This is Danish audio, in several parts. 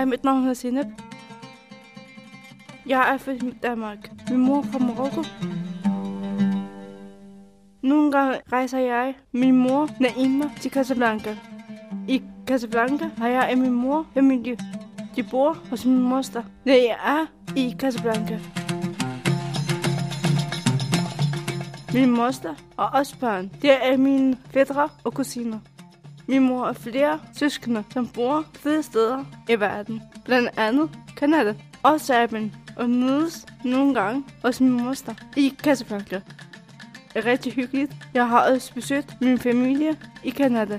mit navn er Zineb. Jeg er født i Danmark. Min mor er fra Marokko. Nogle gange rejser jeg min mor, Naima, til Casablanca. I Casablanca har jeg og min mor familie. De bor hos min moster, når jeg er i Casablanca. Min moster og os børn, det er mine fætre og kusiner. Min mor har flere søskende, som bor flere steder i verden. Blandt andet Canada og Serbien, og mødes nogle gange hos min moster i Casablanca. Det er rigtig hyggeligt. Jeg har også besøgt min familie i Canada.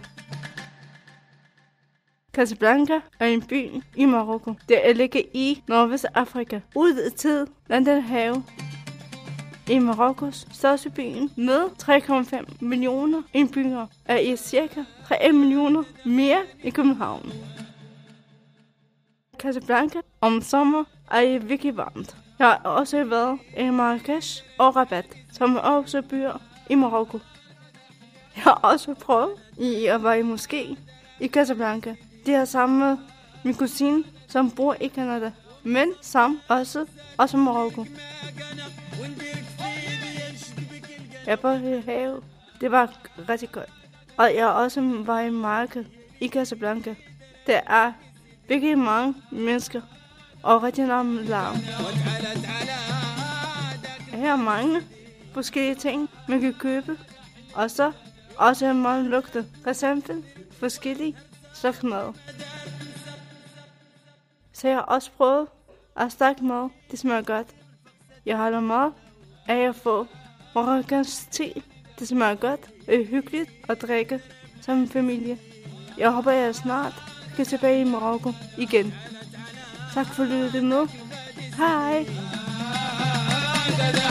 Casablanca er en by i Marokko. Det ligger i Nordvestafrika, ude til Atlanterhavet. I Marokkos største byen med 3,5 millioner indbyggere er i cirka 3 millioner mere i København. Casablanca om sommer er virkelig varmt. Jeg har også været i Marrakesh og Rabat, som er også byer i Marokko. Jeg har også prøvet at være i moské i Casablanca. Det er sammen med min kusine, som bor i Canada, men som også Marokko. Jeg var i havet. Det var rigtig godt. Og jeg også var i markedet i Casablanca. Der er virkelig mange mennesker og rigtig meget larm. Her er mange forskellige ting, man kan købe. Og så også meget lugte. For eksempel forskellige slags mad. Så jeg har også prøvet at stærk mad. Det smager godt. Jeg holder meget af at få marokkansk te. Det smager godt og er hyggeligt at drikke som en familie. Jeg håber, jeg snart skal tilbage i Marokko igen. Tak for lyttet med. Hej!